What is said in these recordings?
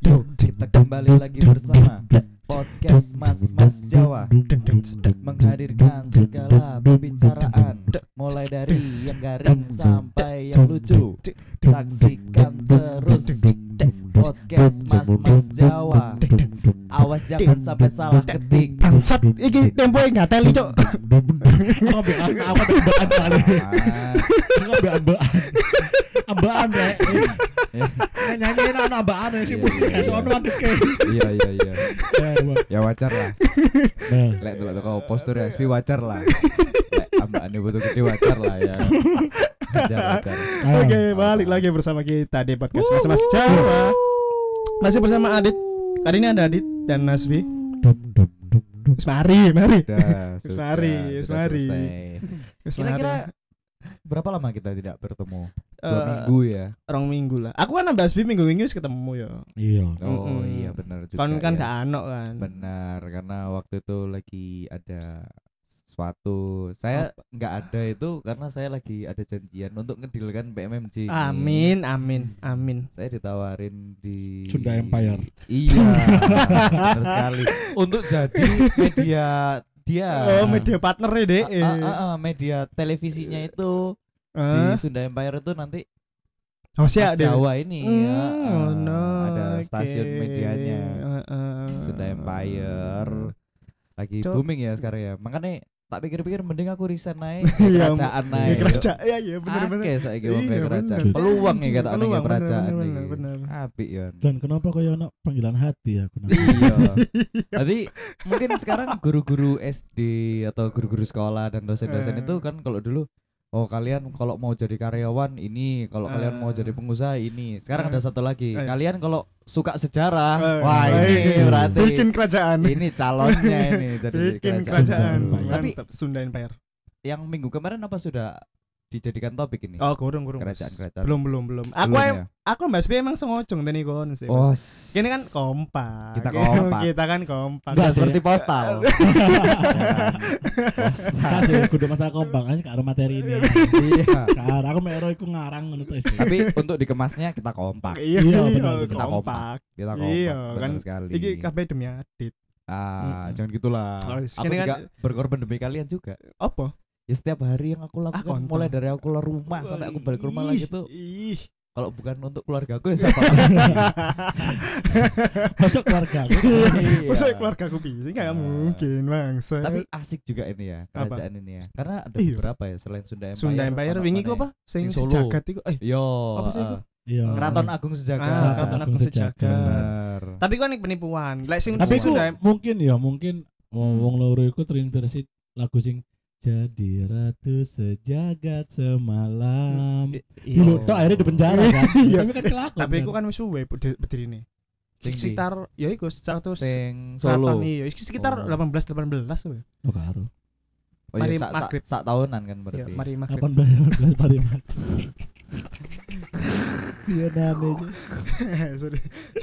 Kita kembali lagi bersama podcast Mas Jawa, menghadirkan segala pembicaraan, mulai dari yang garing sampai yang lucu. Saksikan terus podcast Mas Jawa. Awas jangan sampai salah ketik. Bangsat, iki tempo enggak teli, Cuk. Ambaan rek. Nyanyi ana ambaan iki musik gak ono andeke. Iya. Ya wajar lah. Lek delok postur SP wajar lah. Lek ambane butuh gede wajar lah ya. Wajar. Oke, balik lagi bersama kita di podcast Mas Jawa. Masih bersama Adit. Kali ini ada Adit dan Nasbi. Mari. Sudah selesai. Kira-kira berapa lama kita tidak bertemu? 2 minggu ya. 2 minggu lah. Aku kan nambah Nasbi minggu-minggu wis ketemu ya. Iya. Oh iya benar juga. Kan ya. gak ano kan. Benar, karena waktu itu lagi ada sesuatu. Saya nggak ada itu karena saya lagi ada janjian untuk ngedilkan PMMJ. Amin. Saya ditawarin di Sunda Empire. Iya. Benar sekali. Untuk jadi media dia. Media partner ya, Dek. Media televisinya itu di Sunda Empire itu nanti siap Jawa ini ya. Ada Oke. stasiun medianya Sunda Empire. Lagi booming ya sekarang ya. Makanya tak pikir-pikir mending aku resign naik kerajaan naik. Kerajaan ya bener. Oke, saiki wong Iya, kerajaan. bener. Peluang ya kata ning kerajaan bener. iki. Apik ya. Dan kenapa kaya ono panggilan hati aku nang. Iya. Jadi mungkin sekarang guru-guru SD atau guru-guru sekolah dan dosen-dosen itu kan kalau dulu kalian kalau mau jadi karyawan ini, kalau kalian mau jadi pengusaha ini. Sekarang ada satu lagi. Kalian kalau suka sejarah, wah ini berarti bikin kerajaan. ini calonnya ini jadi Bikin kerajaan. Tapi Mantap, Sunda Empire. yang minggu kemarin apa sudah dijadikan topik ini? Oh, kurang. Kerajaan. Belum. Aku Mbak Sbi emang sengocong tadi kon sih. Oh, Ini kan kompak. Kita kompak. Kita kan kompak. Enggak seperti postal. Kasih kudu masalah kompak aja karo materi ini. Iya. Kar aku mero iku ngarang ngono to. Tapi untuk dikemasnya kita kompak. Iya, benar. Kita kompak. Kita kompak. Iya, Benar kan. sekali. Iki kabeh demi Adit. Jangan gitulah. Aku Ini juga kan- berkorban demi kalian juga. Apa? Ya setiap hari yang aku lakukan kontol. mulai dari aku keluar rumah sampai aku balik ke rumah lagi tuh Ih. kalau bukan untuk keluarga aku ya siapa? Masuk keluarga. Iya. Masa keluarga aku bisa? Enggak mungkin, Bangsa. Tapi asik juga ini ya kerajaan ini ya. Karena ada Iya. beberapa ya selain Sunda Empire. Sunda Empire wingi ku apa? Sing Sing Solo. sejagat iku. Yo. Apa sih itu? Iya. Keraton Agung Sejagat. Keraton Agung Sejagat. Sejagat. Bener. Tapi kan ini penipuan. Lek sing Tapi ku Sunda mungkin wong loro iku terinspirasi lagu sing jadi ratu sejagat semalam. Dulu tok akhirnya di penjara kan. Iya. Tapi kan kelakon. Tapi iku kan wis suwe berdiri. Sing Sekitar ya iku 100 sing Solo. Iya, sekitar Oh. 18 we. Oh karo. Oh Mari iya, maghrib. sak tahunan kan Ya, berarti. mari maghrib. 18 hari mat. Iya nane. Sorry.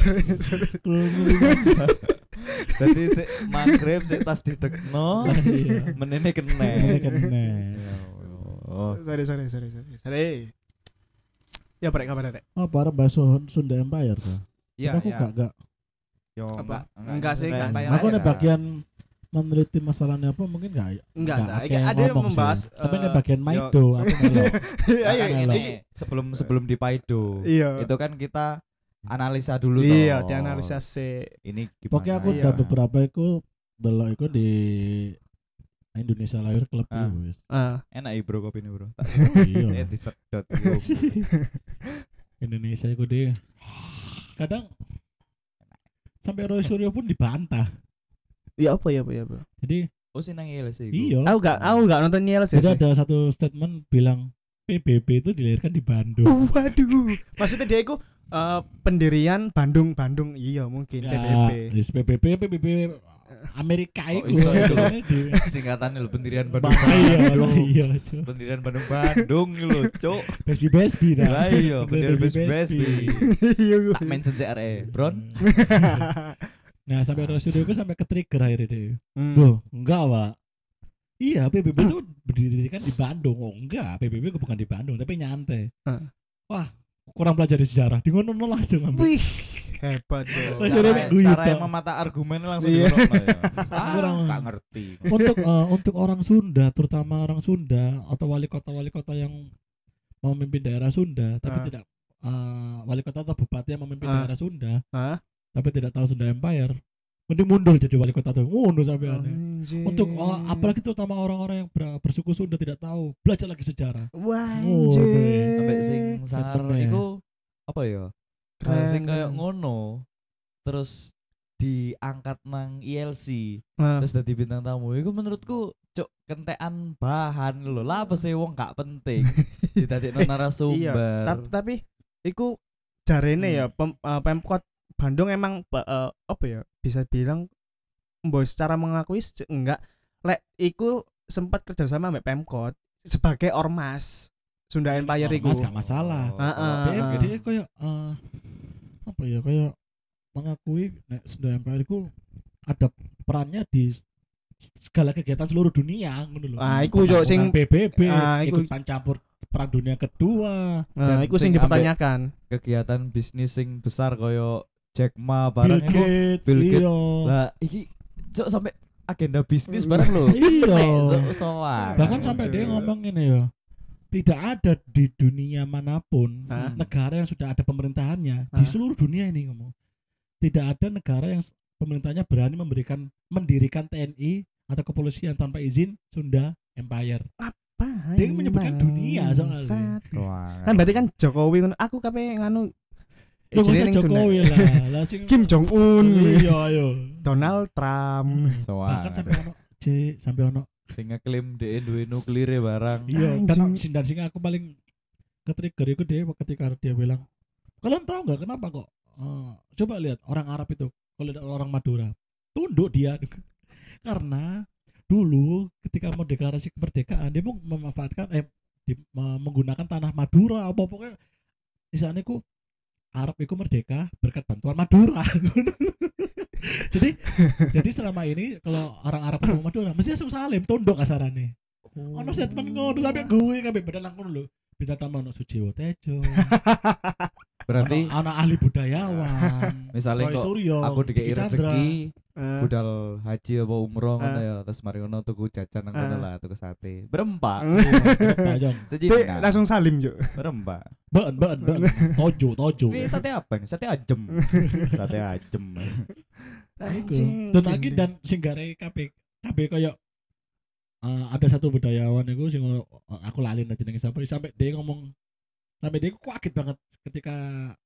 Jadi sik maghrib sik tas didekno, Iya. menene kene. Kene. Oh. Sorry. Ya brek kabar rek. Oh, para bahasa Sunda Empire tuh. Iya, Aku gak Yo, Apa? enggak Enggak sih, Sunda kan. Empire aku ada aja. bagian meneliti masalahnya apa mungkin enggak. Enggak, Cak. akeh Ada yang ngomong membahas sih. Tapi ini bagian yo. Maido aku melok. Ayo Ini sebelum di Paido. Iya. Itu kan kita analisa dulu toh. Iya, dianalisa sih. Ini gimana? Pokoknya aku Iya. udah beberapa iku delok iku di Indonesia Lahir Club Ah. itu wis. Enak ya bro kopi ini bro. Iya. Disedot yo. Indonesia iku di kadang sampai Roy Suryo pun dibantah. Iya apa ya. Jadi Oh sinang sih. iya. Aku enggak nonton Niel sih. Jadi ada satu statement bilang PBB itu dilahirkan di Bandung. Waduh. Maksudnya dia itu pendirian Bandung. Iya mungkin PBB. Yes, PBB Amerika Oh, itu. iso itu. Di- Singkatannya lho pendirian Bandung. Iya, Bandung. iya. Pendirian Bandung lho, Cuk. Besbi dah. Lah iya, pendirian Besbi. Iya. Tak mention CRE, Bron. Nah, sampai Rosydo itu sampai ke-trigger akhirnya deh. Hmm. Loh, enggak, Pak. Iya, PBB itu berdirikan di Bandung. Oh, enggak, PBB bukan di Bandung, tapi nyantai. Heeh. Wah, kurang pelajari sejarah. Di ngono langsung ambil. Wih, Hebat dong. Rasanya Cara, guyu, cara Tok. yang memata argumen langsung Iya. diurutno ya. Kurang. Gak ngerti. Untuk orang Sunda, terutama orang Sunda atau wali kota yang memimpin daerah Sunda tapi Ah. tidak wali kota atau bupati yang memimpin Ah. daerah Sunda Hah? tapi tidak tahu Sunda Empire, mending mundur jadi wali kota tuh, mundur sampai aneh. Anjing. Untuk apalagi terutama orang-orang yang bersuku Sunda tidak tahu, belajar lagi sejarah. Wah, Oh, anjing. Sampai sing sangar Sebenarnya. iku apa ya? Hal Keren, sing kayak keren. ngono. Terus diangkat nang ILC, Nah, terus dadi bintang tamu. Iku menurutku cuk kentekan bahan lho. Lah apa sih wong gak penting didadekno Iya, narasumber. tapi iku jarene Hmm. ya Pemkot Bandung emang apa ya bisa bilang mbok secara mengakui enggak lek iku sempat kerjasama sama Pemkot sebagai ormas Sunda Empire iku. Ormas gak masalah. Heeh. Dia kayak apa ya, kayak mengakui nek Sunda Empire itu ada perannya di segala kegiatan seluruh dunia ngono lho. Ah, iku yo sing PBB, iku- ikut campur perang dunia kedua, Nah, Dan iku sing sing dipertanyakan. Kegiatan bisnis sing besar koyo Jack Ma Bill barang iku. Gates, Bill Gates. iya. Lah iki cuk sampai agenda bisnis bareng lho. Iya. Sowan. Bahkan sampai dia ngomong ini ya, tidak ada di dunia manapun Hah? negara yang sudah ada pemerintahannya di Hah? seluruh dunia ini ngomong. Tidak ada negara yang pemerintahnya berani mendirikan TNI atau kepolisian tanpa izin Sunda Empire. Dia menyebutkan dunia soalnya. Wah. Kan berarti kan Jokowi ngono. Aku kape nganu Ya masa jenenge ning Sunda. Jokowi lah, lah sing Kim Jong Un, Iya, ayo. Donald Trump. Sowan. Bahkan sampai ono sampai ono. Sing ngeklaim DE duwe nuklir barang. Iya, Anjing. dan sing aku paling ke-trigger itu dia ketika dia bilang, "Kalian tahu nggak kenapa kok? Coba lihat orang Arab itu, kalau lihat orang Madura, tunduk dia." Karena dulu ketika mau deklarasi kemerdekaan dia mau memanfaatkan menggunakan tanah Madura apa pokoknya istilahnya ku Arab itu merdeka berkat bantuan Madura. jadi selama ini kalau orang Arab ketemu Madura mesti langsung salim tunduk kasarannya. Ono statement ngono sampai gue kabeh badan langkung lho. Bintang tamu ono Sujiwo Tejo. Berarti ono ahli budayawan. misalnya Roy kok Suryo, aku dikei Diki Chandra. rezeki Eh, budal haji apa umroh ngono ya terus mari ngono tuku jajan nang kono lah tuku sate. Berempat. Tajong. Dia Sejina. langsung salim jo. Berempat. Beun. Tojo. Ini sate apa nih? Sate ajem. Sate ajem. Iku. Dan lagi dan singgare KB koyo ada satu budayawan itu sing aku lali jenenge sapa sampai dia ngomong sampai dia kaget banget ketika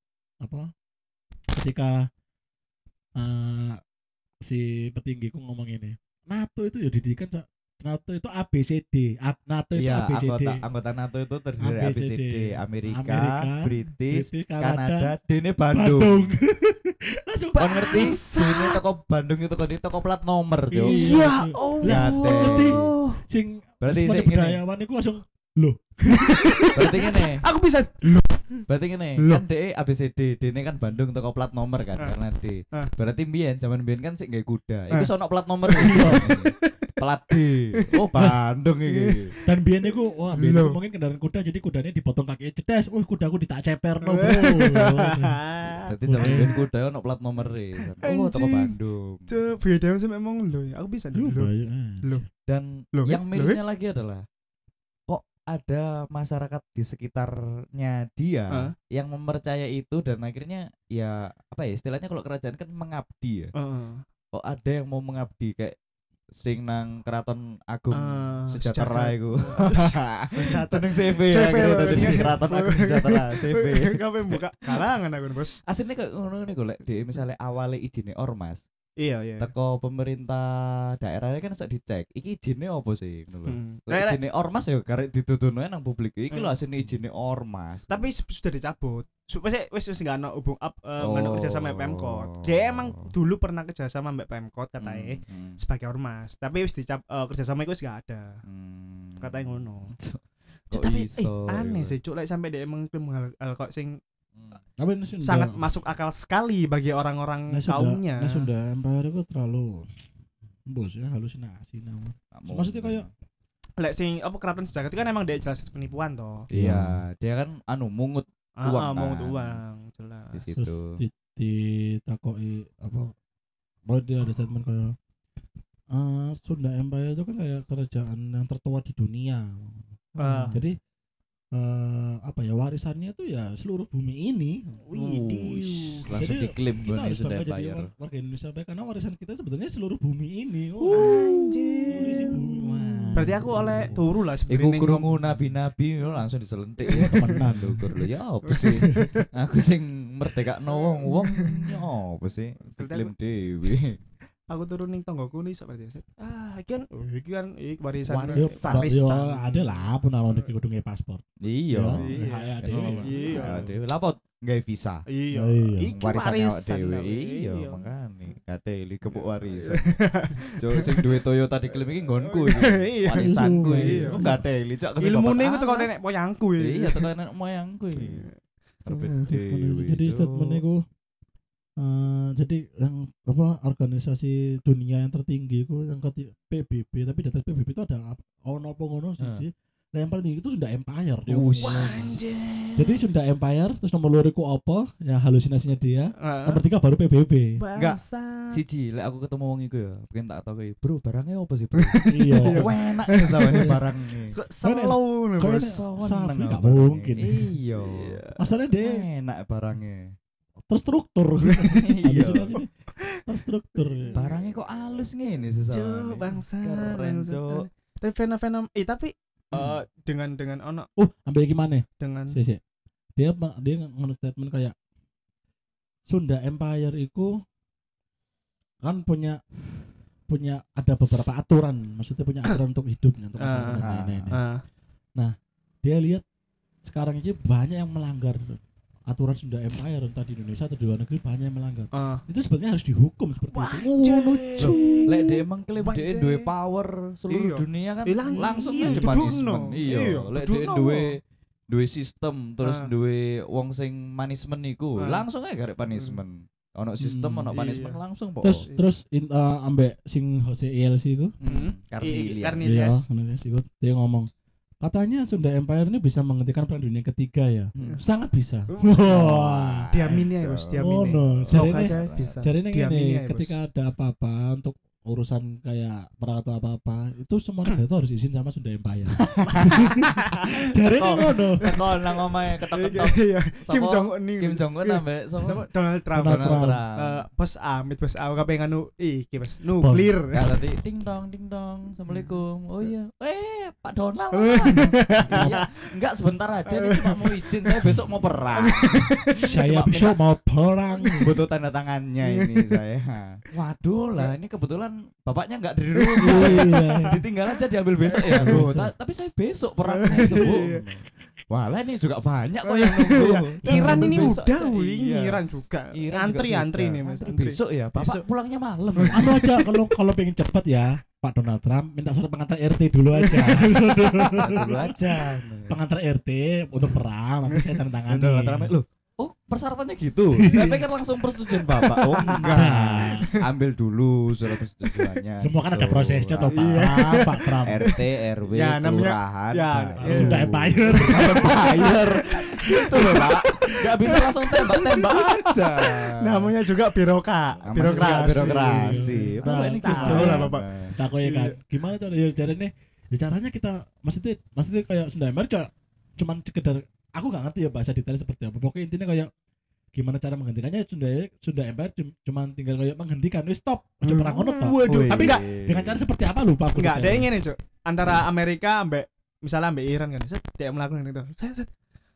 si petinggiku ngomong ini NATO itu ya didikan NATO itu ABCD NATO itu Iya, ABCD anggota NATO itu terdiri dari ABCD. ABCD, Amerika, Amerika, British, British, Kanada, Kanada, dene Bandung. langsung Kon ngerti? Dene toko Bandung itu kan toko plat nomor, Cuk. Iya. oh. Lah, Ngate. ngerti sing Berarti semuanya sing ngene. budayawan itu langsung Berarti ngene. Aku bisa. Berarti ngene, Loh. kan DE ABCD, dene kan Bandung toko plat nomor kan karena D. Berarti mbiyen zaman mbiyen kan sik nggae kuda. Iku sono plat nomor. Plat D. Oh, Bandung iki. dan biyen niku wah biyen Loh. niku mungkin kendaraan kuda jadi kudanya dipotong kakinya cedes. Kudaku ditak ceperno, Bro. Dadi zaman mbiyen kuda ono plat nomor Oh, toko Anjing. Bandung. Coba beda sama emang lo ya. Aku bisa Loh, dulu. bahaya. Dan Loh, yang loh, mirisnya lagi adalah kok ada masyarakat di sekitarnya dia yang mempercayai itu dan akhirnya ya apa ya istilahnya kalau kerajaan kan mengabdi ya. Kok ada yang mau mengabdi kayak sing nang Keraton Agung Sejahtera iku. Jeneng CV ya, CV, gitu loh, dadi iya. Keraton Agung Sejahtera CV. Kape buka kalangan aku bos. Aslinya kayak ngono nih golek di misalnya awalnya izine ormas. Iya iya. Teko pemerintah daerahnya kan sak dicek. Iki izinnya apa sih ngono lho. Lek Lek- izinnya ormas ya karek dituduhno nang publik. Iki lho asline izinnya ormas. Tapi sudah dicabut. Supaya wis nggak ada nggak ada kerja sama Pemkot. Oh. Dia emang dulu pernah kerja sama Mbak Pemkot katanya sebagai ormas. Tapi wis kerja sama itu wis nggak ada. Katanya ngono. Kok Tapi iso, aneh iku? sih cuk lek sampai dia emang hal kok sing Tapi ini Sunda- sangat masuk akal sekali bagi orang-orang ini Sunda- kaumnya. ini Sunda Empire itu terlalu bos ya halusinasi namanya. Maksudnya kayak Lek sing apa keraton sejagat itu kan emang dia jelas penipuan toh. Iya, dia kan mungut uang Mau kan. uang jelas. Di situ. ditakoki apa bahwa dia ada statement kayak Sunda Empire itu kan kayak kerajaan yang tertua di dunia. Jadi apa ya warisannya itu ya seluruh bumi ini. Langsung Jadi diklaim kita gue harus sudah bangga jadi bayar. warga Indonesia baik karena warisan kita sebetulnya seluruh bumi ini. Anjir. Seluruh isi bumi. Wah. Berarti aku oleh turu lah Iku sebenarnya. krungu nabi-nabi langsung diselentik ya temenan lho kur lho ya apa sih aku sing merdekakno wong ya apa sih diklaim dhewe. Aku turun ning tonggoku nih sok berarti. Iki kan warisan Yo, warisan. ada lah pun alon iki kudu nge paspor. Iya. Iya, Iya. Dhewe. Lah apa nggawe visa? Iya. Iya. Iki Warisan awak warisan dhewe. lah, Iya, makane kateli kepuk warisan. Jo sing duwe Toyota diklaim iki nggonku iki. Iya. Warisanku iki. Iya. Kok kateli cak kesempatan. Ilmune iku teko alas. nenek moyangku iki. Iya, teko nenek moyangku iki. Jadi statement itu jadi yang apa organisasi dunia yang tertinggi itu yang PBB tapi di atas PBB itu ada ono apa ngono sih. Nah, yang paling tinggi itu Sunda Empire dia. Jadi Sunda Empire terus nomor loro iku apa? Ya halusinasinya dia. Nomor 3 baru PBB. Enggak. Siji lek aku ketemu wong iku ya, pengen tak takoki, "Bro, barangnya apa sih, Bro?" Iya. Kok enak ya samane barang iki. Kok slow nih, Kok Bos. sapi Seneng gak aku mungkin. Iya. Masalahnya dia Enak barangnya. terstruktur. Iya. Halusinasinya terstruktur. Barangnya kok halus ngene Cuk, sesane. bangsa. Keren, bangsa. Cuk. Tapi fenomena tapi dengan ono Ambil gimana? dengan Sih. Dia nge statement kayak Sunda Empire itu kan punya ada beberapa aturan, maksudnya punya aturan untuk hidupnya, untuk masyarakat dan lain-lain. Dia lihat sekarang ini banyak yang melanggar aturan Sunda Empire entah di Indonesia atau di luar negeri banyak yang melanggar. Itu sebetulnya harus dihukum seperti itu. Lek dia emang klaim dia Anjay. duwe power seluruh Iya. dunia kan Langsung langsung iya, aja punishment. dudukno. Iya, Iya, lek dia dudukno. duwe sistem terus Ah. duwe wong sing punishment iku, Ah. langsung aja garek punishment. Ono sistem ono iya. punishment langsung po. Terus ambek sing Jose ILC itu, Karnilias. Karnilias. iya, Karnilias itu dia ngomong katanya Sunda Empire ini bisa menghentikan perang dunia ketiga ya. Sangat bisa. Wah. Diamini ya, Bos, Oh, diamini. no. Semoga Jadi aja bisa. Jadi ini Diamini gini, ya, Bos. ketika ada apa-apa untuk urusan kayak perang atau apa-apa, itu semua negara itu harus izin sama Sunda Empire. Dari ini ngono. Teko nang omahe ketok-ketok. Iya. Sapa? Kim Jong Un nih. Kim Jong Un ambek Sama sapa? Donald Trump. Donald Trump. Bos Amit, bos aku kabeh nganu iki, Bos. Nuklir. Ya tadi ding dong. Assalamualaikum. Oh iya. Pak Donald. Iya. Enggak sebentar aja nih cuma mau izin saya besok mau perang. Saya Cuma besok mau perang. Butuh tanda tangannya ini saya. Waduh lah ini kebetulan bapaknya enggak dari rumah. Iya. Ditinggal aja diambil besok ya. Loh, tapi saya besok perangnya itu, Bu. Wah, lah ini juga banyak kok yang nunggu. Iran ini Besok udah, aja, wing. iya. Iran juga. Iran Antri juga antri sudah. nih, Mas. Antri Antri. besok ya. Bapak Besok. pulangnya malam. Anu aja kalau pengen cepat ya, Pak Donald Trump minta surat pengantar RT dulu aja. Dulu aja. Pengantar RT untuk perang, nanti saya tanda tangani. Donald Trump, loh, oh persyaratannya gitu. Saya pikir langsung persetujuan Bapak. Oh enggak. Ambil dulu surat persetujuannya. Semua kan ada Gitu. prosesnya toh Pak Trump. RT, RW, Ya, namanya- kelurahan. ya, baru. Sunda Empire. Empire. Gitu loh, Pak. Enggak bisa langsung tembak-tembak aja. Namanya juga Namanya juga birokrasi. birokrasi. Nah, Bapak ini tahu Gus lah, Dur. Bapak. Nah, kok ya kan. Gimana cara ya caranya? Ya caranya kita maksudnya kayak Sunda Empire cuman sekedar aku nggak ngerti ya bahasa detail seperti apa. Pokoknya intinya kayak gimana cara menghentikannya Sunda Empire cuman tinggal kayak menghentikan wis stop aja perang ngono toh. Waduh, Tapi enggak dengan cara seperti apa lupa aku. Enggak, ada detailnya. yang ini, Cuk. Antara Amerika ambek misalnya ambek Iran kan. Set dia melakukan itu. Set.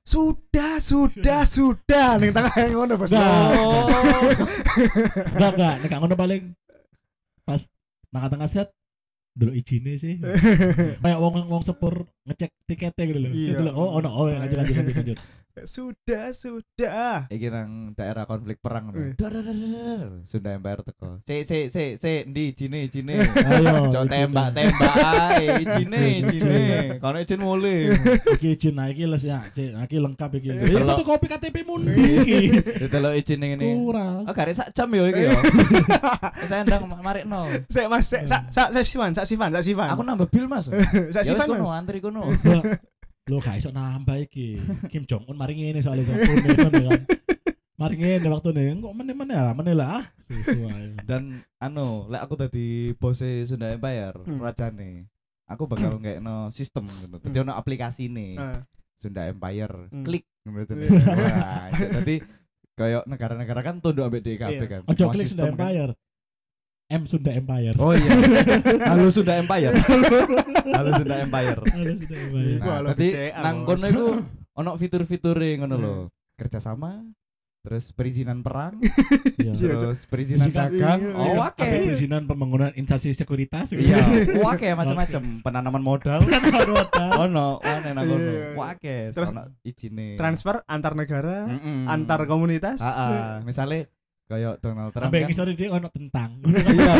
Sudah ning tengah yang ngono, Bos. Nah. Oh. Enggak nek ngono paling pas tengah-tengah set dulu izinnya sih. Kayak wong sepur ngecek tiketnya gitu loh. Iya. Gitu loh. Oh, lanjut. Sudah. Iki nang daerah konflik perang Wih. Sunda Empire teko. Ndi ijine. Ayo. Cok tembak ae, ijine. Kono izin mulai. Iki izin nah iki les ya, Cik. Iki lengkap iki. Iya. Iki fotokopi KTP mun iki. Ditelok izin ngene. Kurang. Oh, garek sak jam yo iki yo. Saya ndang marikno. Sik Mas, sak Sifan. Aku nambah bil, Mas. Sak Ya wis Sifan, kono Mas. antri kono. Lo gak iso nambah iki. Kim Jong Un mari ngene soalnya Jong Un kan. Mari ngene waktune kok meneh-meneh lah. Susu ae. Dan lek aku tadi bose Sunda Empire, rajane. Aku bakal ngekno sistem ngono. Dadi ono aplikasine. Sunda Empire, klik ngono to. Wah, jadi kayak negara-negara kan tunduk ambek DKB kan. Ojo Semua klik Sunda sistem kan. Empire. Sunda Empire. Oh iya. Halo Sunda Empire. Halo Sunda Empire. Halo Sunda Empire. Iku halo Nah, tadi BCA, nang Bos. kono iku ono fitur-fiture ngono lho. Kerjasama, terus perizinan perang, Iya. terus perizinan Perizinan- dagang. iya, Oh, Ada oke. perizinan pembangunan instansi sekuritas. Iya, oke macam-macam. Penanaman modal. Ono, nang kono. Iya. Oke, Terus ono izine. Transfer antar negara, Mm-mm. antar komunitas. Misalnya kayak Donald Trump Sampai kan. ngisor dia ono tentang. Iya,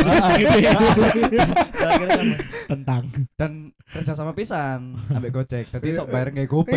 akhirnya kan. Tentang. Dan kerja sama pisan ambek Gojek. Dadi sok bayar nggih GoPay.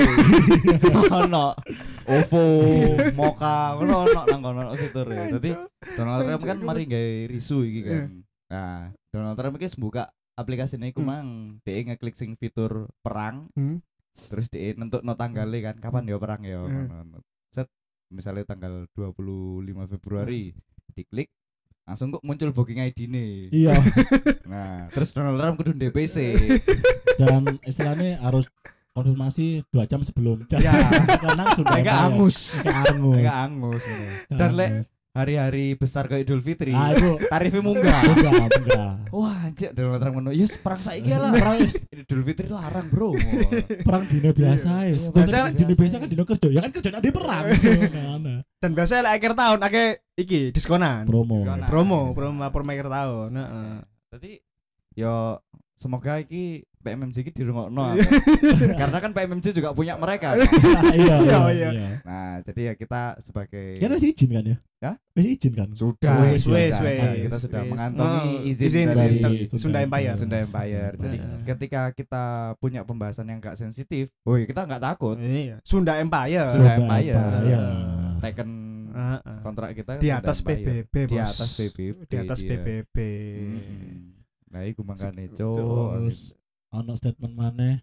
Ono OVO, Moka, ono nang kono fitur. Dadi Donald Trump kan mari gawe risu iki kan. Nah, Donald Trump iki buka aplikasinya iku mang, dia ngeklik sing fitur perang. Terus dia nentukno tanggale kan kapan ya perang ya. Ngono. Set misalnya tanggal 25 Februari diklik langsung kok muncul booking ID-ne. Iya. Nah, terus Donald Trump kudu DPC. Dan istilahnya harus konfirmasi 2 jam sebelum. Ya, Karena sudah enggak angus. angus. Enggak angus gitu. Dan lek hari-hari besar kayak Idul Fitri, itu tarifnya munggah. enggak. Wah, anjir Donald Trump ngono. Yes, perang saiki lah. Perang Idul Fitri larang, Bro. perang dino biasa ya. Biasa- Dino biasa kan dino kerja. Ya kan kerjaan ada perang. Mana? Dan biasanya lek akhir tahun akeh iki diskonan. Promo. Diskonan. Promo per akhir tahun. Heeh. Jadi yo semoga iki PMMJ iki dirungokno. Karena kan PMMJ juga punya mereka. Kan? Iya. Iya. Nah, jadi ya kita sebagai Kan masih izin kan ya? Ya? Masih izin kan? sudah, Wes, sudah. wes. Nah, kita sudah Wes. mengantongi Oh, izin dari dari Sunda Empire. Sunda Empire. Jadi Heeh. ketika kita punya pembahasan yang gak sensitif, woi kita nggak takut. Iya. Sunda Empire. Sunda Empire. Iya. Teken Heeh. kontrak kita Di Sunda atas Empire. PBB, Di Bos. atas PBB. Di atas dia. PBB. Nah, iku mangkane, Terus ono statement mana?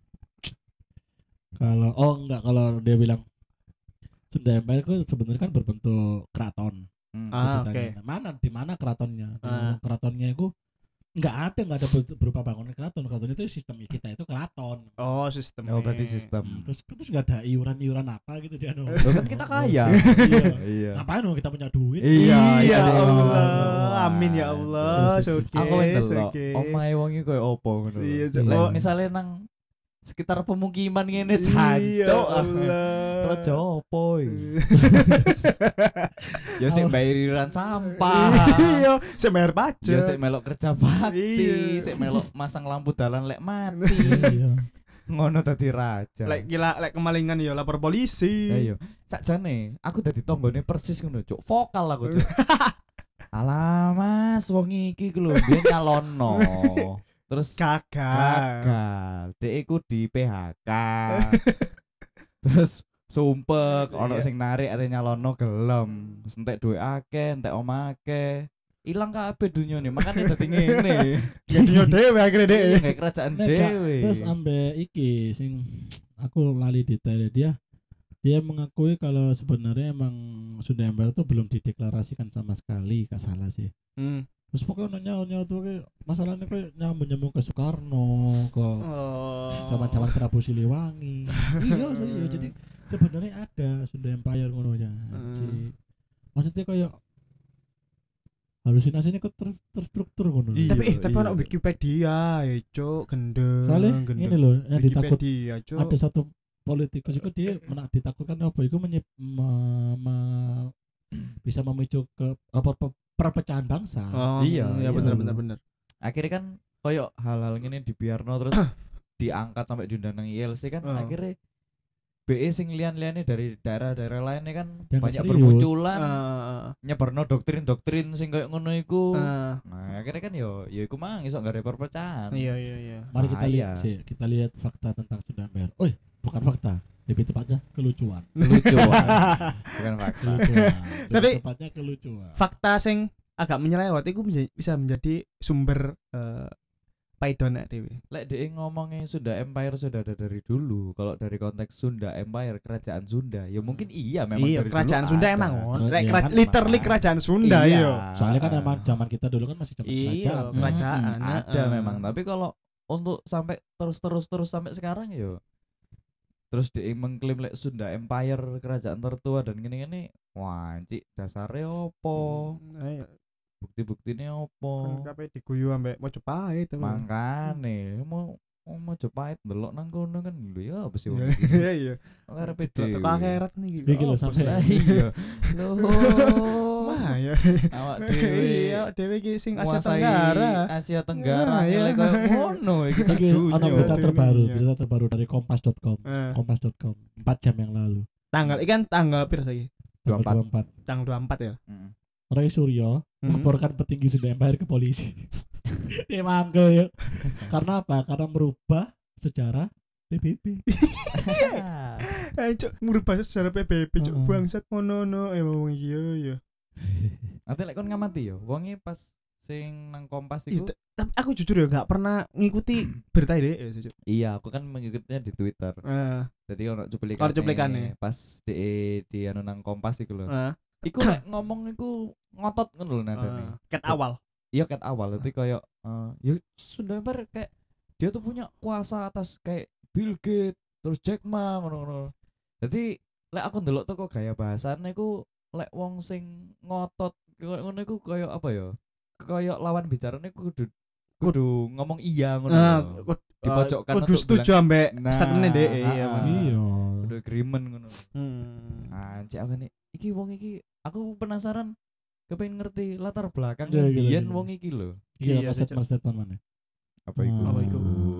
Kalau dia bilang Sunda Empire itu sebenarnya kan berbentuk keraton. Ah, Jadi oke. tanya, di mana keratonnya? Ah. Keratonnya itu nggak ada berupa bangunan keraton. Keraton itu sistem kita itu keraton. Oh, sistem. Oh, berarti sistem. Terus nggak ada iuran apa gitu dia no. Loh kan kita kaya. Iya. Iya. Ngapain no kita punya duit? Iya, Ya iya. Allah. Amin ya Allah. Sip. Suki. Aku ndelok suki. omahe wong iki koyo opo ngono. Iya, Cuk. Lek Oh, misale nang sekitar pemukiman ngene Iya jancuk. Allah. Raja opo iki? Ya sik bayar iuran sampah. Iya, saya bayar pajak. Ya sik melok kerja bakti, Iya. sik melok masang lampu dalan lek mati. Iya. Ngono dadi raja. Lek gila lek kemalingan ya lapor polisi. Ayo, sakjane aku dadi tonggone persis ngono, Cuk. Vokal aku, Cuk. Alah, Mas, wong iki ku lho biyen nyalono. Terus gagal. Dek iku di PHK. Terus sumpek ono sing narik ate nyalono gelem. Entek duwe akeh, entek omah akeh. Ilang kabeh dunyane, makane dadi ngene. Gantinya dhewe akhirnya dhewe. Kayak kerajaan Nek gak, dhewe. Terus ambek iki sing aku lali detail dia mengakui kalau sebenarnya emang Sunda Empire itu belum dideklarasikan sama sekali, gak salah sih. Terus pokoknya nyawa tuh kayak masalahnya kayak nyambung ke Soekarno, ke zaman-zaman Prabu Siliwangi. Iya serius, jadi sebenarnya ada Sunda Empire ngono ya. Maksudnya kayak halusinasinya kok terstruktur ngono. Iya. Tapi ono Wikipedia ya, Cuk, gendeng. Soalnya ini loh yang ditakut Wikipedia, Cuk. ada satu politikus itu dia ditakutkan apa itu bisa memicu ke perpecahan bangsa. Oh, Iya, iya iya. bener. Akhirnya kan koyo hal-hal ngene dibiarno terus diangkat sampai diundang nang ILC kan akhirnya BE sing lian-liane dari daerah-daerah lainnya kan Dianggap banyak serius. bermunculan nyebarno doktrin-doktrin sing koyo ngono iku. Nah, akhirnya kan yo iku mang iso gak ada perpecahan. Iya. Mari kita Bahaya. lihat sih, kita lihat fakta tentang Sunda Empire. Oh, bukan fakta, lebih tepatnya kelucuan. Kelucuan. Bukan fakta. Kelucuan. Tapi- Lebih tepatnya kelucuan. Fakta sing agak menyelewat itu bisa menjadi sumber Paidon dhewe. Lek dia ngomongnya Sunda Empire sudah ada dari dulu. Kalau dari konteks Sunda Empire, kerajaan Sunda, ya mungkin iya memang Iya, dari kerajaan dulu Sunda ada. emang Iya, lek kan literally emang. kerajaan Sunda Iya. iya. Soalnya kan emang zaman kita dulu kan masih zaman Iya, kerajaan. kerajaan. Ada memang. Tapi kalau untuk sampai terus sampai sekarang ya terus dia mengklaim lek Sunda Empire kerajaan tertua dan gini-gini, wah cik dasarnya opo, Ayo, bukti-buktinya kan opo. kabeh diguyu ambek Mojopahit to. Makane mau Jepait delok nang kono kan lho ya apa sih wong Iya, iki. iya. Karepe Teko dhewe. akhirat niki. Iki lho, Apa sampai- Lah sih? iya. Loh. Mah ya. Awak dhewe. Iya, dhewe iki sing Asia Menguasai Tenggara. Asia Tenggara Nah, iya. ngene koyo ngono iki sak Iki ana dunya. berita Dunia. terbaru, berita terbaru dari kompas.com. Eh, Kompas.com 4 jam yang lalu. tanggal ikan tanggal piro saiki? Tanggal 24. 24. Tanggal 24 ya. Heeh. Roy Suryo Mhm. laporkan petinggi Sunda Empire ke polisi. Dia manggil ya. Karena apa? Karena merubah sejarah PBB. Cuk, merubah sejarah PBB cuk Heeh. bangsat ngono wong iki ya. Nanti lek kon ngamati yo, wonge pas sing nang Kompas Iya, iku. tapi aku jujur ya gak pernah ngikuti berita ini ya sih, Cuk. Iya, aku kan mengikutinya di Twitter. Jadi ono cuplikan. Ono cuplikannya. Pas di anu nang Kompas iku lho. Heeh. Iku lek ngomong iku ngotot ngono lho nadane. Ket awal. Iya ket awal nanti kayak ya Sunda Empire kayak dia tuh punya kuasa atas kayak Bill Gates terus Jack Ma ngono-ngono. Jadi lek aku ndelok tuh kok gaya bahasane iku lek wong sing ngotot koyo ngono iku kayak apa ya? Kayak lawan bicarane kudu ngomong iya ngono. lho. Dipojokkan kudu untuk setuju ambek Nah, statementnya deh iya. ah, bener. Iya. Kudu agreement ngono. Hmm. Anjir aku nih iki wong iki aku penasaran kepengin ngerti latar belakang Iya, iya, biyen iya. wong iki lho. Iya, Iya, statement statement mana? Apa iku? Apa iku?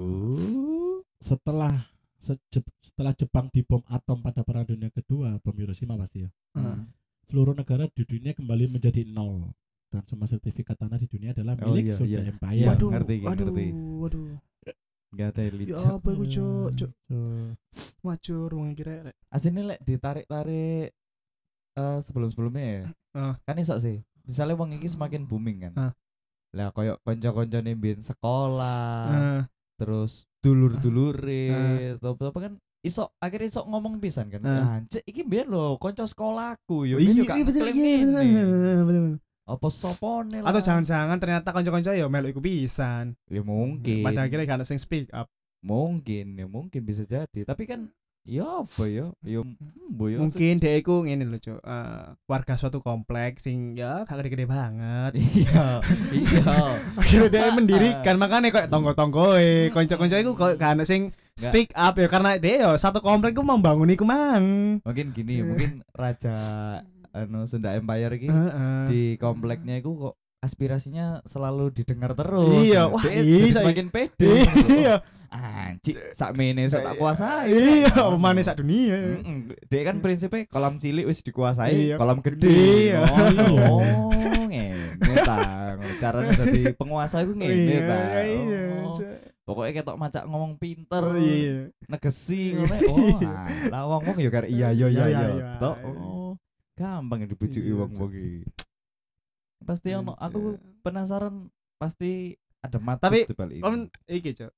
Setelah setelah Jepang dibom atom pada Perang Dunia Kedua, bom Hiroshima pasti ya. Hmm. Seluruh negara di dunia kembali menjadi nol dan semua sertifikat tanah di dunia adalah Oh, milik iya, Sunda iya. Empire. Iya, Waduh, ngerti, ngerti. waduh. Gak ada Ya licin. apa iku, Cuk? Macur wong iki rek. Aslinya lek ditarik-tarik sebelum-sebelumnya ya. Kan iso sih. Misalnya wong iki semakin booming kan. Lah koyo kanca-kancane mbiyen sekolah, Heeh. terus dulur-dulure, apa kan iso akhirnya iso ngomong pisan kan. Anjir iki mbiyen lho kanca sekolahku ya mbiyen yo gak klaim ngene. Apa sopone lah. Atau jangan-jangan ternyata kanca-kanca ya melu iku pisan. Ya mungkin. Pada akhirnya gak ada sing speak up. Mungkin bisa jadi. Tapi kan ya apa ya? Ya mbo ya. Mungkin dia iku ngene lho, Cuk. Warga suatu kompleks sing ya gak gede-gede banget. Iya. Iya. Akhirnya dia mendirikan makanya kok tonggo-tonggoe, kanca-kanca iku kok gak ada sing speak up ya karena dia ya satu komplek ku membangun iku mang. Mungkin gini, mungkin raja anu Sunda Empire iki Heeh. di kompleknya iku kok aspirasinya selalu didengar terus. Iya, wah, Dia iya, jadi semakin pede. Iya. Anjir, sakmene sok tak kuasai. Iya, pemane sak dunia. Dia kan prinsipnya kolam cilik wis dikuasai, Iya. kolam gede. Iya. Oh, ngene ta. Caranya dadi penguasa iku ngene ta. Iya. Oh, pokoknya ketok macak ngomong pinter, Oh, iya. negesi ngono. Oh, lah wong-wong ya karo iya iya iya Iya, iya. iya. Tok. Oh, gampang dibujuki Iya, wong-wong iki. Pasti ono aku penasaran pasti ada maksud Tapi, di balik Om ini. iki, Cuk.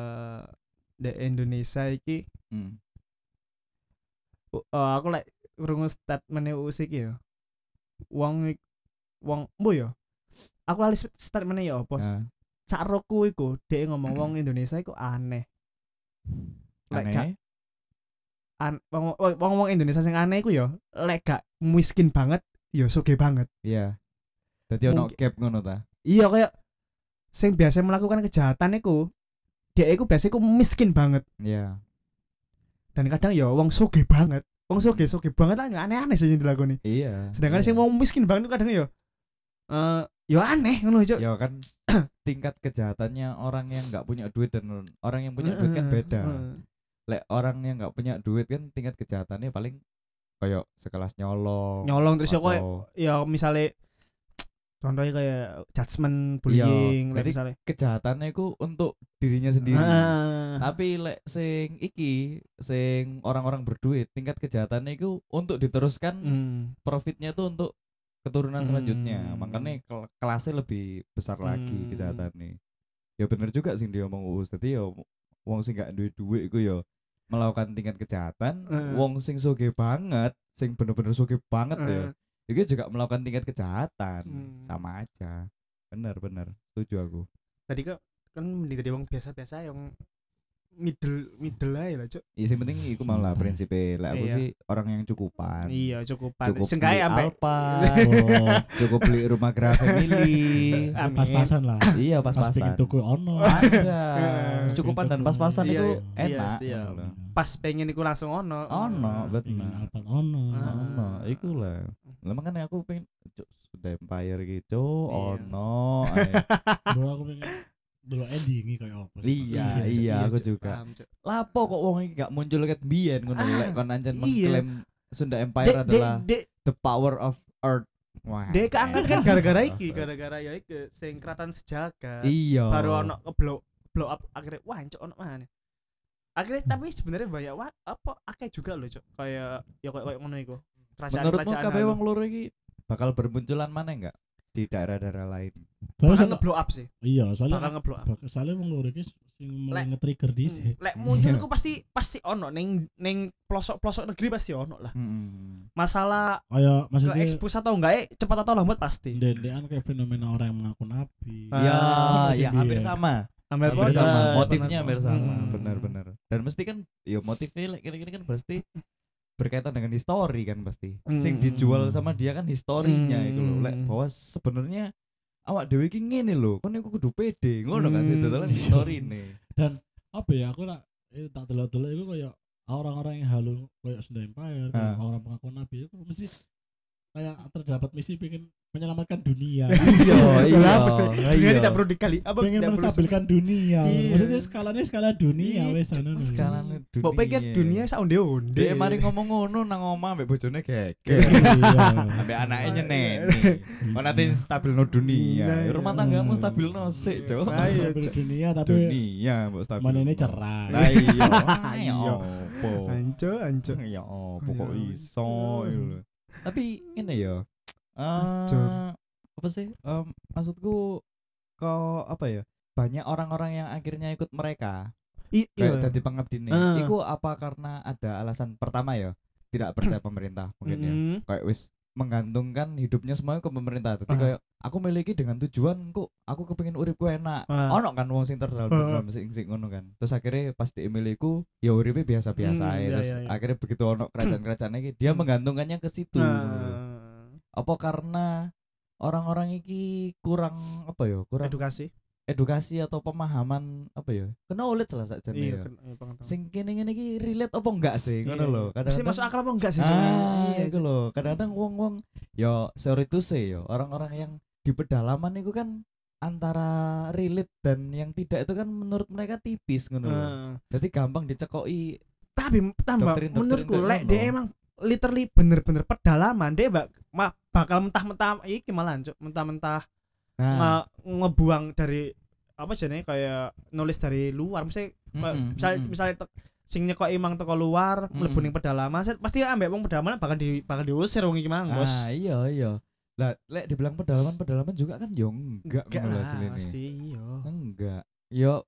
Di Indonesia iki Hmm. aku lek krungu statement Usik ya. Wong mbo ya. Aku lali statement ya apa? Nah, Sakroku iku dhek ngomong wong Indonesia iku aneh. Lek gak aneh. wong Indonesia sing aneh iku ya lek gak miskin banget ya sugih banget. Iya. Dadi ono Mungkin- gap ngono ta. Iya kayak sing biasa melakukan kejahatan iku dia iku biasa iku miskin banget Iya. dan kadang ya wong sugih banget. Wong sugih banget lah aneh-aneh sih yang dilakoni. Iya. Sedangkan iya. sing wong miskin banget kadang ya ya aneh ngono, Cuk. Ya kan tingkat kejahatannya orang yang nggak punya duit dan orang yang punya duit kan beda. Lek orang yang nggak punya duit kan tingkat kejahatannya paling kayak sekelas nyolong. Nyolong terus ya kok atau ya misalnya contohnya kayak judgment bullying jadi misalnya. kejahatannya itu untuk dirinya sendiri. Ah. Tapi lek sing orang-orang berduit tingkat kejahatannya itu untuk diteruskan profitnya itu untuk keturunan selanjutnya. Makanya kelasnya lebih besar lagi kejahatannya. Ya ya bener juga sing dia ngomong Uus. Dadi ya wong sing gak duwe duit iku ya melakukan tingkat kejahatan, wong sing sugih banget, sing bener-bener sugih banget ya. Itu juga melakukan tingkat kejahatan. Sama aja. Bener, setuju aku. Tadi kan mending dari wong biasa-biasa yang middle aja lah, Cuk. Ya sing penting iku malah prinsipnya. Lah aku Iya. sih orang yang cukupan. Iya, cukupan. Cukup Sing beli kae ambek Alphard, Oh, cukup beli rumah Gra Family. Amin. pas-pasan lah. Iya Pas pengen pas-pasan. tuku ono. Ada. Pas Cukupan dan pengen tuku. pas-pasan Iya, itu iya, enak. iya. ngono lho. Pas pengen iku langsung ono. Ono, Pas pengen bener. Alphard ono. Ah. Ono, iku lah. Lah makanya aku pengen Cuk, sudah Empire gitu, Iya. ono. ae. Bro aku pengen dulu endingi kayak apa sih? Iya, aku Cuk. juga. Paham, Cuk. Lapo kok wong iki gak muncul ket biyen ngono lho, lek kon anjen Iya. mengklaim Sunda Empire adalah Dek, the power of earth. Wah. Dek keangkat kan gara-gara iki, gara-gara ya iki sing Kraton Sejagat. Iya. Baru ono blow up akhirnya wah cok ono mana. Akhirnya tapi sebenarnya banyak apa akeh juga loh cok. Kayak ya kayak ngono iku. Menurutmu kabeh halu. wong loro iki bakal bermunculan mana enggak di daerah-daerah lain? Terus bakal nge-blow up sih. iya, Bakal soalnya nge-blow up. soalnya wong loro iki sing mulai Lek- nge-trigger dhisik. Lek muncul ku pasti ono ning pelosok-pelosok negeri pasti ono lah. Masalah Kayak ke maksudnya expose atau enggak cepat atau lambat pasti. dendean kayak fenomena orang yang mengaku nabi. Ya, masih ya hampir biyen. sama. Hampir Hampir podo. sama. Bener, Motifnya hampir bener. sama. Hmm. Benar-benar. Dan mesti kan ya motifnya kira-kira kan pasti berkaitan dengan histori kan pasti. Sing dijual sama dia kan historinya itu loh. Lek bahwa sebenarnya awak dhewe iki ngene lho. Kon iku kudu pede. Ngono kan sih dalan historine. Apa ya aku nak tak delok-delok itu kayak orang-orang yang halu kayak Sunda Empire, kayak orang pengaku nabi itu mesti kayak terdapat misi pengen menyelamatkan dunia. Iya, Kenapa sih? Dunia iya. tidak perlu dikali apa pengen tidak perlu menstabilkan dunia. Iya. Maksudnya skalanya skala dunia Iya, wes anu. Skalane dunia. Mbok pikir dunia sak onde-onde. Dia mari ngomong ngono nang omah ambek bojone geger. Iya. Ambek anake nyeneni. Kok nanti stabilno dunia. Iya, Rumah iya. tanggamu stabilno sik, Cuk. Ayo, Stabil Cuk. dunia tapi Dunia mbok stabil. manene cerai. Lah iya. Iya. Ya opo. Anco. Ya opo kok Iya. iso gitu loh. Tapi ini ya. Hancur. Apa sih? Maksudku kok apa ya? Banyak orang-orang yang akhirnya ikut mereka kayak Iya. dadi pengabdine. Iku apa karena ada alasan pertama ya? Tidak percaya pemerintah mungkin ya. Kayak wis menggantungkan hidupnya semuanya ke pemerintah. Jadi kayak aku miliki dengan tujuan kok aku kepengin uripku enak. Ono kan wong sing terdalam sing ngono kan. Terus akhirnya pas diemiliku ya uripe biasa-biasa ae. Iya, Terus iya, iya. akhirnya begitu ono kerajaan-kerajaan iki dia menggantungkannya ke situ. Apa karena orang-orang iki kurang apa ya? Kurang edukasi atau pemahaman apa ya? Kena ulet lah sakjane Iya, ya. pengetahuan. Sing kene-kene iki relate apa enggak sih? Ngono Iya. lho. Mesti masuk akal apa enggak sih? Iya, itu Cuk. loh. Kadang-kadang wong-wong ya sorry to say ya, orang-orang yang di pedalaman itu kan antara relate dan yang tidak itu kan menurut mereka tipis ngono loh. Jadi gampang dicekoki. Tapi tambah Doktrin-doktrin menurutku kayak lek ngono. dia emang literally bener-bener pedalaman dia bakal mentah-mentah iki malah Cuk, mentah-mentah Nah, ngebuang dari apa jenenge kayak nulis dari luar misalnya sing nyekoki emang teko luar mlebu ning pedalaman pasti ambek wong pedalaman bakal diusir wong iki mang bos. iya. Lah lek dibilang pedalaman juga kan yo enggak ngono lho lah asline. pasti iya. Enggak. Yo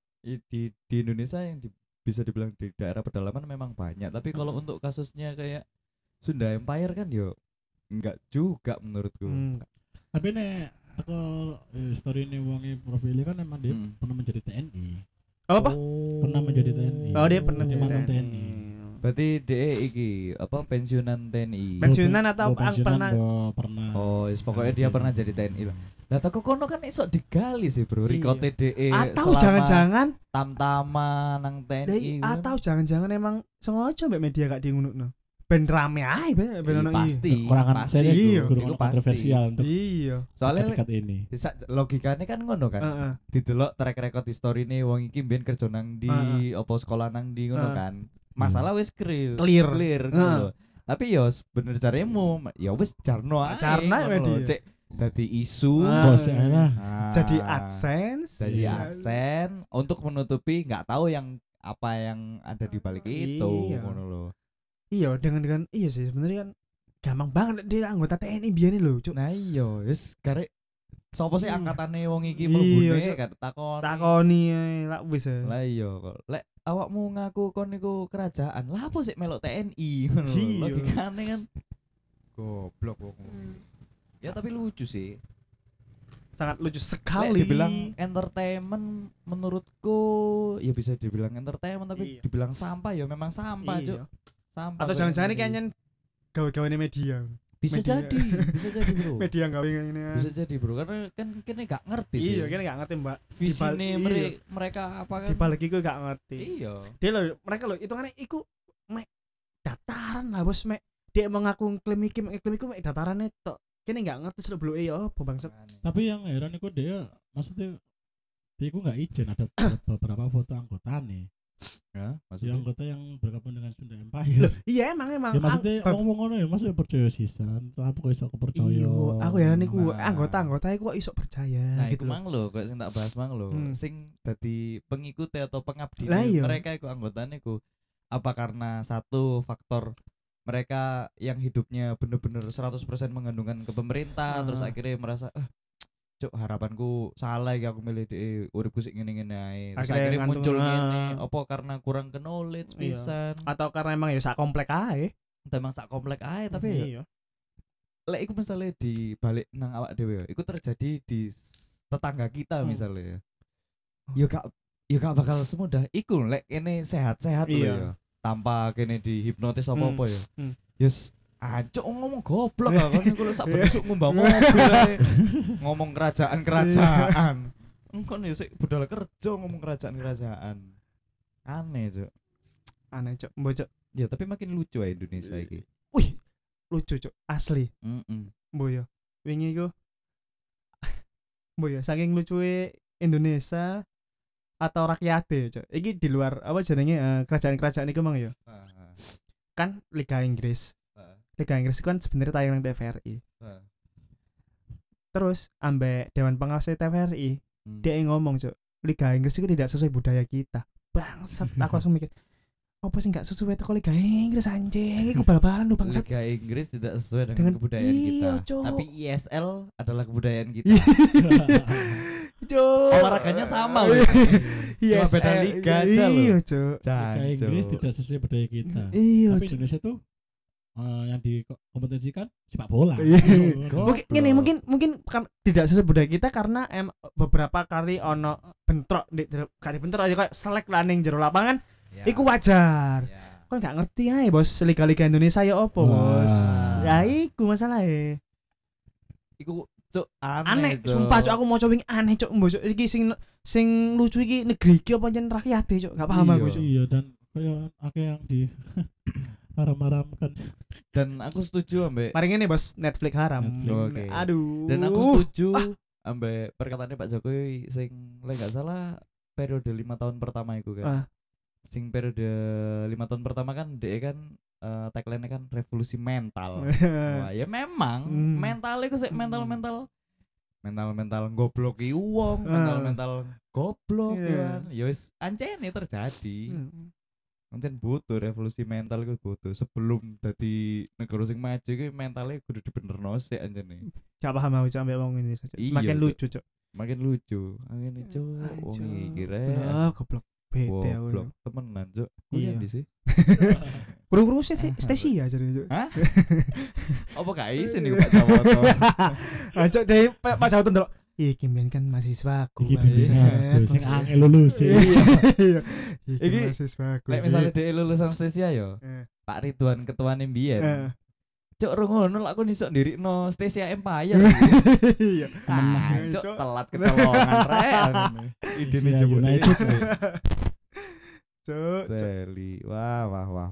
di Indonesia yang bisa dibilang di daerah pedalaman memang banyak, tapi kalau untuk kasusnya kayak Sunda Empire kan yo enggak juga menurutku. Tapi nek teko story ini wonge profile kan emang dia pernah menjadi TNI. Apa? Pernah menjadi TNI. Oh, dia pernah Dia jadi mantan TNI. TNI. Berarti DE iki apa pensiunan TNI. Pensiunan atau pensiunan pernah? pernah. Oh, pokoknya dia pernah jadi TNI lah. Lah teko kono kan iso digali sih, Bro. Iya. Rekote DE Atau selama jangan-jangan tam-taman nang TNI. atau jangan-jangan emang sengaja mbak media gak diunukno. Ben rame ae ben ono pasti. Kekurangan Pasti. saya Iya, itu itu pasti. kontroversial untuk Iya. Soalnya dekat ini. logikanya kan ngono kan. Heeh. Didelok track record history nih wong iki mbiyen kerja nang di apa sekolah nang di ngono kan. Masalah wis clear ngono lho. Tapi yo bener caremu ya wis jarno ae. Jarno ae ngono lho. dia. Cek dadi isu Bos ya lah. Jadi AdSense. Jadi Iya. aksen untuk menutupi nggak tahu yang apa yang ada di balik itu Iya. ngono lho. Iya dengan iya sih sebenarnya kan gampang banget dia anggota TNI biyen lho, Cuk. Nah iya wis karek Sopo sih Iya. angkatane wong iki Iya, mlebune Cuk. gak takoni. Takoni ae lak wis. Lah iya kok. Lek awakmu ngaku kon niku kerajaan, lah apa sih melok TNI ngono lho. Iya. Logikane kan goblok wong. Ya tapi lucu sih. Sangat lucu Lek sekali. dibilang entertainment menurutku ya bisa dibilang entertainment tapi Iya. dibilang sampah ya memang sampah, Iya. Cuk. Sampah. Atau jangan-jangan ini kayaknya gawe-gaweane media. bisa media. jadi, bisa jadi, Bro. Media gawe ini. Bisa jadi, Bro. Karena kan kene gak ngerti sih. Iya, kene gak ngerti, Mbak. Visine Iya. mereka apa kan? Di balik iku gak ngerti. Iya. Dia lho, mereka lho hitungannya iku mek dataran lah bos mek dia mengaku klaim iku mek dataran tok. Kene gak ngerti selebluke ya apa bangsat. Tapi yang heran itu dia maksudnya dia itu nggak izin ada beberapa foto anggota nih. Ya, Si maksudnya anggota yang bergabung dengan Sunda Empire. Iya emang Ya maksudnya ngomong ngono ya, maksudnya percaya sisan. Apa kok iso kepercaya? Iya, aku heran iku Nah. anggota iku kok iso percaya nah gitu. iku mang lho, kok sing tak bahas mang lho. Sing dadi pengikut atau pengabdi Lah iya. mereka iku anggotane iku apa karena satu faktor mereka yang hidupnya bener-bener 100% menggantungkan ke pemerintah terus akhirnya merasa cuk harapanku salah ya aku milih di uripku sik ngene-ngene ae. Terus Akhirnya akhirnya muncul ngantung, ngene, apa karena kurang ke knowledge Iya. pisan. Atau karena emang ya sak komplek ae. Emang sak komplek ae tapi ya, iya. lek iku misalnya di balik nang awak dhewe ya, iku terjadi di tetangga kita misalnya ya. Ya gak bakal semudah iku lek ini sehat-sehat lho Iya. ya. Tanpa kene dihipnotis apa-apa ya. Yes, ancuk ngomong goblok lah kan iku lek sak besok ngumbah mobil ae. Ngomong kerajaan-kerajaan. Engkon ya sik budal kerja ngomong kerajaan-kerajaan. Aneh, Cuk. Aneh cok, mbok cok. Ya tapi makin lucu ya Indonesia iki. Wih, lucu cok, asli. Mbok yo. Wingi iku mbok yo saking lucuwe Indonesia atau rakyate cok. Iki di luar apa jenenge kerajaan-kerajaan iku mang yo. Kan Liga Inggris. Liga Inggris itu kan sebenarnya tayangan TVRI. Terus ambek Dewan Pengawas TVRI, dia ngomong cok, Liga Inggris itu tidak sesuai budaya kita. Bangsat, aku langsung mikir, apa sih nggak sesuai kok Liga Inggris anjing? Iku bal-balan lu bangsat. Liga Inggris tidak sesuai dengan Dengan- kebudayaan iya, kita. Cok. Tapi ISL adalah kebudayaan kita. Cok. Olahraganya sama loh. Cuma beda liga aja loh. Iya cok. Liga Inggris tidak sesuai budaya kita. Iya Tapi cok. Indonesia tuh yang dikompetisikan sepak bola. Iya. Oh, Mungkin kan tidak sesuai budaya kita karena beberapa kali ono bentrok kali bentrok aja kayak selek lah ning jero lapangan. Ya. Iku wajar. Ya. Kok nggak ngerti aja bos liga-liga Indonesia ya opo bos. Ya iku masalahnya. Iku cuk Aneh, Cuk. sumpah cok aku mau cowing aneh cok mbok cok iki sing lucu iki negeri iki apa jen rakyat cok gak paham Iya. aku cok. Iya, dan kayak akeh yang di haram-haramkan. Dan aku setuju ambek Mari ngene bos Netflix haram. Netflix. Oke. Aduh. dan aku setuju ambek perkataannya Pak Jokowi sing lek gak salah periode 5 tahun pertama itu kan. Sing periode 5 tahun pertama kan dia kan tagline-nya kan revolusi mental. Wah, ya memang mental itu sih mental gobloki wong, mental goblok Iya. ya kan. Ya wis ancene terjadi. Ancen butuh revolusi mental iku butuh sebelum dadi negara sing maju iki mentalnya kudu dibenerno sik ancene. Gak paham aku cok ambek wong ini cok. Iya, Semakin Cok. lucu cok. Makin lucu. Angene cuk, wong iki rek. Goblok. Bete aku. Goblok temenan cuk. Iya. Kuliah di sih. Kurung-kurung sih stasi ya jadi cok. Hah? Apa gak isin nih Pak Jawoto? Cok dari Pak Jawatan ndelok. Iki mbiyen kan mahasiswa aku. Iki bimbingan sing angel lulus. Iya. Iki, Iki mahasiswa aku. Lek misalnya dia lulusan Stesia yo. Eh. Pak Ridwan ketuane mbiyen. Eh. Cuk rungono lak aku nisok ndirikno Stesia Empire. Iya. Cuk Cuk. telat kecolongan rek. Idene Stesia jebuk United. dhewe. Cuk. Teli. Wah.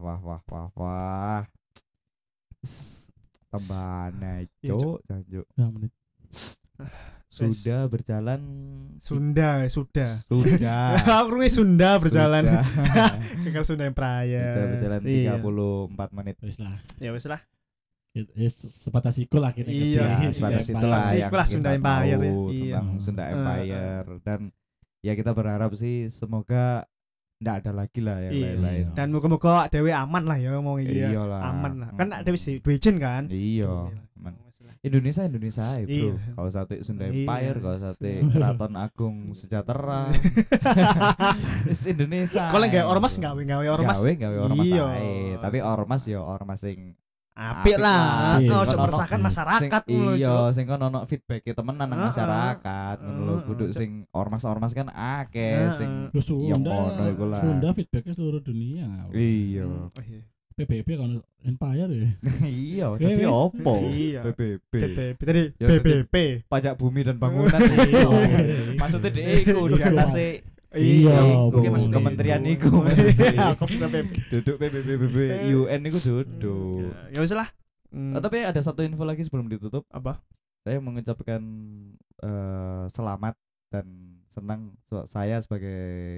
Tambahane Iya, cuk, janjuk. Nah, menit. Sudah berjalan Sudah. Sudah. Aku Sunda berjalan. Sudah. Keker Sunda Empire. Sudah berjalan Iya. 34 menit. Wis lah. Ya wis lah. Sebatas iku lah kita Iya, Ya, sebatas itulah Sebatas yang itulah kita Sunda tahu Empire, ya. tentang Iya. Sunda Empire dan ya kita berharap sih semoga ndak ada lagi lah yang Iya. lain-lain. Dan moga-moga dhewe aman lah ya ngomong iki ya. Iyalah. Aman lah. Kan ada wis duwe izin kan? Iya, aman. Indonesia ae, bro. Iya. Kalau sate Sunda Iya. Empire, kalau sate Keraton Agung Sejahtera. Wis Indonesia. Kalau ae, nggak ormas bro. gawe ormas. Gawe ormas Iya. ae. Tapi ormas ya ormas sing Apik lah. Iya. Ojo Kan meresahkan ono- masyarakat sing, ngono, iya, Cuk. sing kon ono feedback temenan nang Heeh. masyarakat ngono lho. Kudu Heeh. sing ormas-ormas kan akeh Heeh. sing Lu iya Sunda, ngono iku lah. Sunda feedbacknya seluruh dunia. Iya. Oh, iya. PBB kan Empire ya. Iya, Wes, dadi wes. opo? Iya. PBB. BBP tadi Ya, BBP. Pajak bumi dan bangunan. Iya. Maksudnya dhek iku di atas Iya, oke Bu. maksudnya Kementerian itu. iku maksudnya. Iya, BBP. Duduk PBB UN iku duduk. Ya wis lah. Tapi ada satu info lagi sebelum ditutup. Apa? Saya mengucapkan selamat dan senang saya sebagai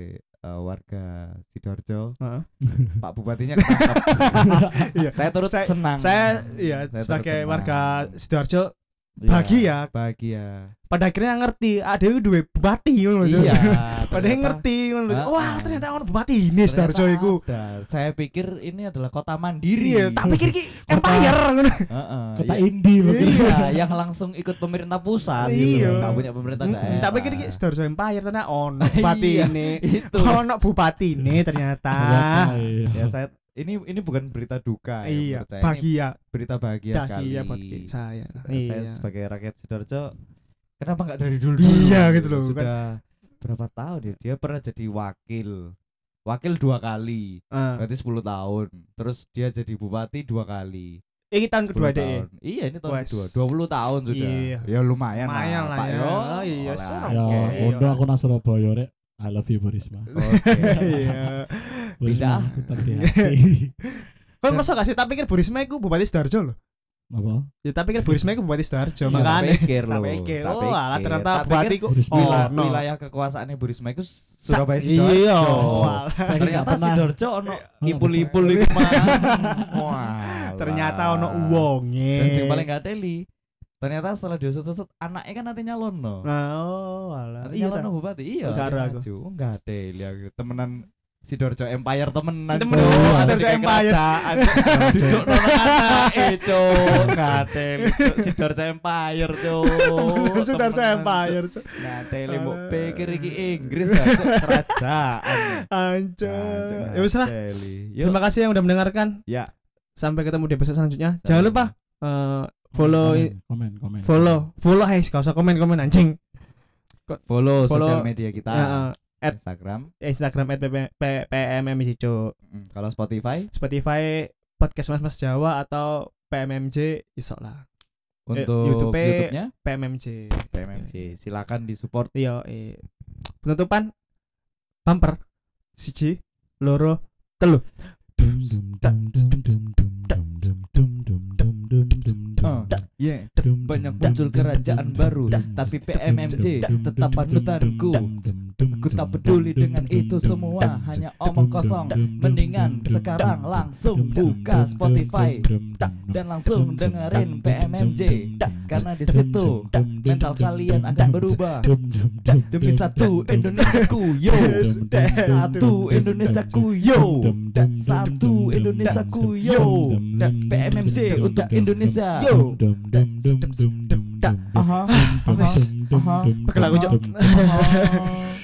warga Sidoarjo. Heeh. Pak Bupatinya ketangkep. Iya. Saya turut Saya- senang. Saya iya Saya turut sebagai senang. warga Sidoarjo Iya, bahagia. Bahagia. pada akhirnya ngerti ada duwe bupati ngono lho. Iya. Pada ternyata- ngerti ngono lho. Heeh. Wah, ternyata ono bupati ini ternyata Sidoarjo iku. ada. Saya pikir ini adalah kota mandiri. Iya, tak pikir ki empire ngono. Heeh. Kota Ya- indie begitu. Iya, yang langsung ikut pemerintah pusat gitu. Iya. Enggak punya pemerintah daerah. Tak pikir ki Sidoarjo empire ternyata ono bupati Iya, ini. itu. Ono bupati ini ternyata. Iya. Ya saya ini bukan berita duka ya, Iya, menurut saya. Ini bahagia. berita bahagia sekali. Bahagia buat saya. Saya Iya. sebagai rakyat Sidoarjo, kenapa nggak dari dulu? Iya, gitu loh, Sudah berapa tahun ya? Dia pernah jadi wakil 2 kali, Ah. berarti 10 tahun. Terus dia jadi bupati 2 kali. Ini tahun 10 kedua deh. tahun. Iya, ini tahun Wes. kedua. 20 tahun sudah. Iya. Ya lumayan, Lumayan lah Pak ya. yo. Oh, iya, Oleh senang. Ya, akeh. Oke. untuk aku nang Surabaya rek. I love you Burisma. Oke. Iya. Burisma Pindah. tetap di hati. Kau merasa gak sih? Tak pikir Bu Risma iku bupati Sidoarjo loh. Apa? Ya tak pikir Bu Risma iku bupati Sidoarjo, Iya, makanya. tak pikir loh. Tak pikir. tak Oh, alah pikir. ternyata Tak bupati pikir ku Burisma. no. wilayah kekuasaannya Bu Risma itu Surabaya Sidoarjo. Iya. Oh, Saya ternyata nggak pernah. Sidoarjo ono ipul-ipul iku mah. Wah. Ternyata ono wonge. Dan sing paling gak teli. Ternyata setelah diusut-usut anaknya kan nanti nyalono. Oh, alah. Nanti nyalono bupati. Iya. Enggak ada dia aku. maju. Enggak teli aku. Temenan Sidoarjo Empire temenan. Temen, Bro. Sidoarjo Ada kayak Empire. kerajaan. Duduk nono anake, Cuk. Enggak teli, Cuk. Sidoarjo Empire, Cuk. Sidoarjo Temenan, Empire. Cuk. Nah, tele mbok pikir iki Inggris ya, Cuk. Kerajaan. Anjir. Nah, Ya wis lah. teli. Yuk. Terima kasih yang udah mendengarkan. Ya. Sampai ketemu di episode selanjutnya. Sampai Jangan lupa follow komen. follow guys, gak usah komen anjing. Follow Follow- sosial media kita. At Instagram. @pmmcico, Kalau Spotify Spotify podcast Mas Jawa atau PMMJ iso lah. untuk YouTube-nya YouTube-nya PMMJ. PMMC. Silakan disupport. Iya, penutupan bumper siji loro telu. Yeah. Banyak muncul kerajaan baru, tapi PMMJ tetap panutanku. Aku tak peduli dengan itu semua, hanya omong kosong. Mendingan sekarang langsung buka Spotify dan langsung dengerin PMMJ, karena di situ mental kalian akan berubah. Demi satu Indonesiaku, yo. Satu Indonesiaku, yo. Satu Indonesiaku, yo. PMMJ untuk Indonesia, yo. Aha. Pakai lagu, Cok. Aha.